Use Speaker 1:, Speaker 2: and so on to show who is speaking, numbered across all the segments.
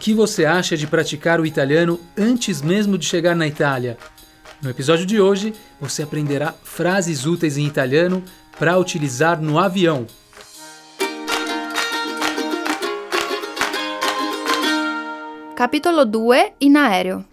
Speaker 1: que você acha de praticar o italiano antes mesmo de chegar na Itália? No episódio de hoje, você aprenderá frases úteis em italiano para utilizar no avião.
Speaker 2: Capitolo 2 in aereo.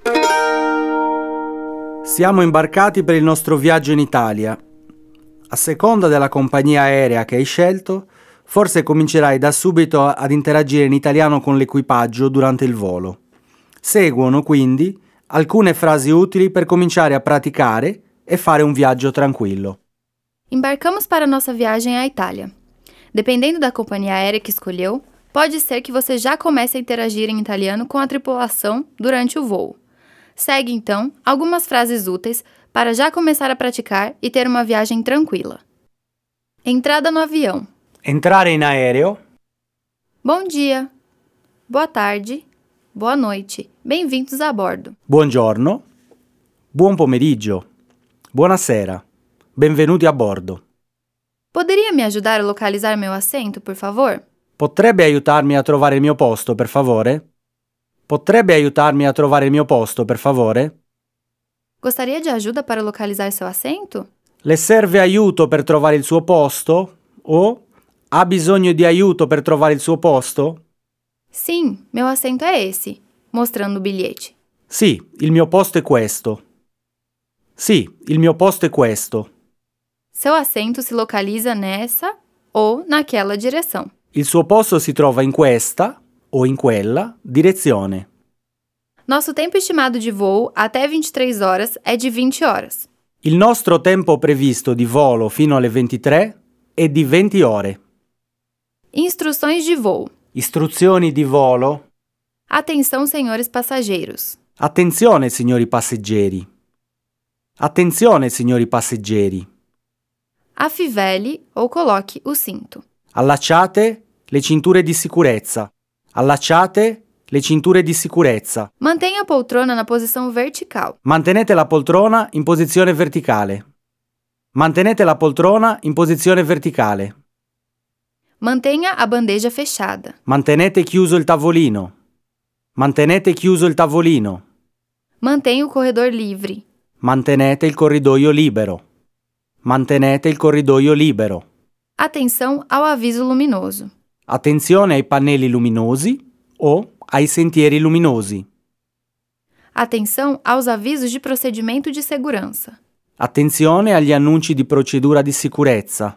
Speaker 3: Siamo imbarcati per il nostro viaggio in Italia. A seconda della compagnia aerea che hai scelto, forse comincerai da subito ad interagire in italiano con l'equipaggio durante il volo. Seguono quindi alcune frasi utili per cominciare a praticare e fare un viaggio tranquillo.
Speaker 2: Embarcamos para nossa viagem à Itália. Dependendo da companhia aérea que escolheu, pode ser que você já comece a interagir em italiano com a tripulação durante o voo. Segue, então, algumas frases úteis para já começar a praticar e ter uma viagem tranquila. Entrada no avião.
Speaker 3: Entrare in aereo.
Speaker 2: Bom dia. Boa tarde. Boa noite. Bem-vindos a bordo.
Speaker 3: Buongiorno. Buon pomeriggio. Buonasera. Benvenuti a bordo.
Speaker 2: Poderia me ajudar a localizar meu assento, por favor?
Speaker 3: Potrebbe aiutarmi a trovare il mio posto, per favore? Potrebbe aiutarmi a trovare il mio posto, per favore?
Speaker 2: Gostaria de ajuda para localizar seu assento?
Speaker 3: Le serve aiuto per trovare il suo posto? O ha bisogno di aiuto per trovare il suo posto?
Speaker 2: Sim, meu assento é esse, mostrando o bilhete.
Speaker 3: Sì, il mio posto è questo. Sì, il mio posto è questo.
Speaker 2: Seu assento se localiza nessa ou naquela direção.
Speaker 3: Il suo posto si trova in questa o in quella direzione.
Speaker 2: Nosso tempo estimado de voo até 23 horas é de 20 horas.
Speaker 3: Il nostro tempo previsto di volo fino alle 23 è di 20 ore.
Speaker 2: Instruções de voo.
Speaker 3: Istruzioni di volo.
Speaker 2: Atenção, senhores passageiros.
Speaker 3: Attenzione, signori passeggeri. Attenzione, signori passeggeri.
Speaker 2: Afivele ou coloque o cinto.
Speaker 3: Allacciate le cinture di sicurezza. Allacciate le cinture di sicurezza.
Speaker 2: Mantenha a poltrona na posição vertical.
Speaker 3: Mantenete la poltrona in posizione verticale. Mantenete la poltrona in posizione verticale.
Speaker 2: Mantenha a bandeja fechada.
Speaker 3: Mantenete chiuso il tavolino. Mantenete chiuso il tavolino.
Speaker 2: Mantenha o corredor livre.
Speaker 3: Mantenete il corridoio libero. Mantenete il corridoio libero.
Speaker 2: Atenção ao aviso luminoso.
Speaker 3: Attenzione ai pannelli luminosi o ai sentieri luminosi.
Speaker 2: Atenção aos avisos de procedimento de segurança.
Speaker 3: Attenzione agli annunci di procedura di sicurezza.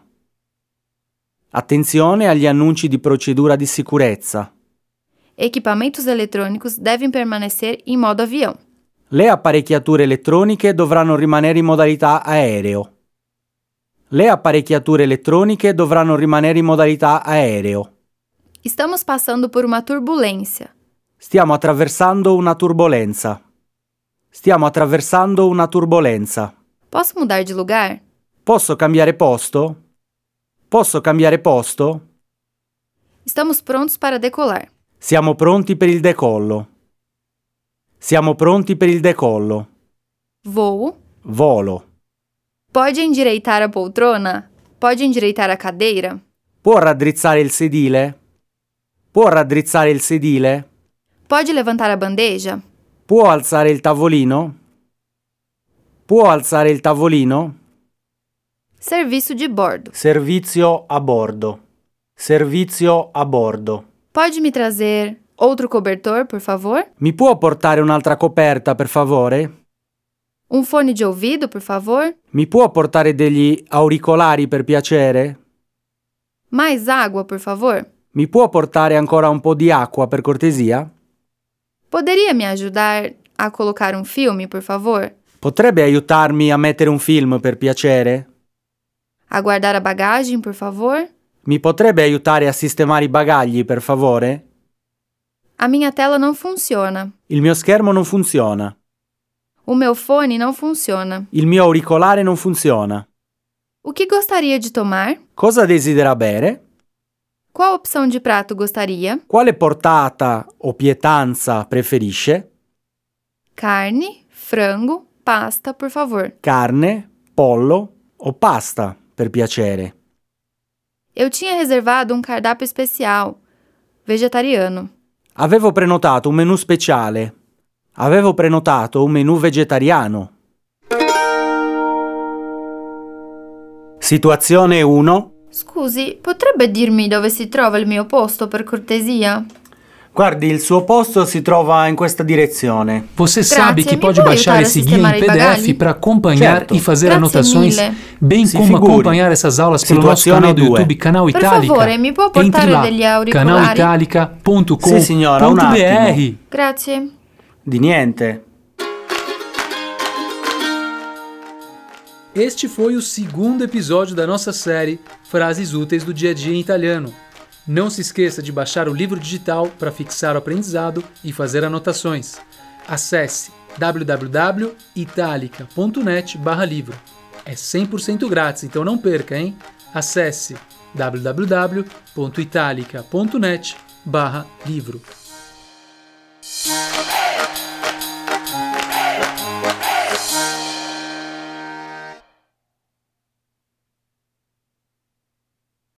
Speaker 3: Attenzione agli annunci di procedura di sicurezza.
Speaker 2: Equipamentos eletrônicos devem permanecer em modo avião.
Speaker 3: Le apparecchiature elettroniche dovranno rimanere in modalità aereo. Le apparecchiature elettroniche dovranno rimanere in modalità aereo.
Speaker 2: Estamos passando por uma turbulência.
Speaker 3: Stiamo attraversando una turbolenza. Stiamo attraversando una turbolenza.
Speaker 2: Posso mudar de lugar?
Speaker 3: Posso cambiare posto? Posso cambiare posto?
Speaker 2: Estamos prontos para decolar.
Speaker 3: Siamo pronti per il decollo. Siamo pronti per il decollo.
Speaker 2: Voo.
Speaker 3: Volo.
Speaker 2: Pode endireitar a poltrona? Pode endireitar a cadeira?
Speaker 3: Può raddrizzare il sedile? Può raddrizzare il sedile?
Speaker 2: Pode levantar a bandeja?
Speaker 3: Può alzare il tavolino? Può alzare il tavolino?
Speaker 2: Serviço de bordo.
Speaker 3: Servizio a bordo. Servizio a bordo.
Speaker 2: Pode me trazer outro cobertor, por favor?
Speaker 3: Mi può portare un'altra coperta, per favore?
Speaker 2: Um fone de ouvido, por favor?
Speaker 3: Mi può portare degli auricolari, per piacere?
Speaker 2: Mais água, por favor?
Speaker 3: Mi può portare ancora un po' di acqua, per cortesia?
Speaker 2: Poderia me ajudar a colocar um filme, por favor?
Speaker 3: Potrebbe aiutarmi a mettere un film, per piacere?
Speaker 2: A guardar a bagagem, por favor?
Speaker 3: Mi potrebbe aiutare a sistemare i bagagli, per favore?
Speaker 2: A minha tela não funciona.
Speaker 3: Il mio schermo non funziona.
Speaker 2: O meu fone não funciona.
Speaker 3: Il mio auricolare non funziona.
Speaker 2: O que gostaria de tomar?
Speaker 3: Cosa desidera bere?
Speaker 2: Qual opção de prato gostaria?
Speaker 3: Quale portata o pietanza preferisce?
Speaker 2: Carne, frango, pasta, por favor.
Speaker 3: Carne, pollo o pasta, per piacere.
Speaker 2: Eu tinha reservado um cardápio especial, vegetariano.
Speaker 3: Avevo prenotato un menù speciale. Avevo prenotato un menù vegetariano. Situazione 1.
Speaker 2: Scusi, potrebbe dirmi dove si trova il mio posto, per cortesia?
Speaker 3: Guardi, il suo posto si trova in questa direzione.
Speaker 1: Você
Speaker 2: Grazie,
Speaker 1: sabe que
Speaker 2: me
Speaker 1: pode
Speaker 2: può
Speaker 1: baixar
Speaker 2: aiutare a
Speaker 1: esse guia
Speaker 2: sistemare
Speaker 1: em
Speaker 2: i bagagli?
Speaker 1: PDF para acompanhar
Speaker 3: Certo.
Speaker 1: e fazer
Speaker 2: Grazie
Speaker 1: anotações,
Speaker 2: mille.
Speaker 1: bem
Speaker 3: Se
Speaker 1: como
Speaker 3: figuri.
Speaker 1: acompanhar essas aulas pelo nosso
Speaker 3: Situazione
Speaker 1: canal do
Speaker 3: 2.
Speaker 1: YouTube, Canal
Speaker 2: Per
Speaker 1: Itálica.
Speaker 2: favore, mi può
Speaker 1: Entre
Speaker 2: portare
Speaker 1: lá,
Speaker 2: degli auricolari?
Speaker 1: canalitalica.com.br.
Speaker 3: Sì, signora, un attimo.
Speaker 2: Grazie.
Speaker 3: Di niente.
Speaker 1: Este foi o segundo episódio da nossa série Frases Úteis do Dia a Dia em Italiano. Não se esqueça de baixar o livro digital para fixar o aprendizado e fazer anotações. Acesse www.italica.net/livro. É 100% grátis, então não perca, hein? Acesse www.italica.net/livro.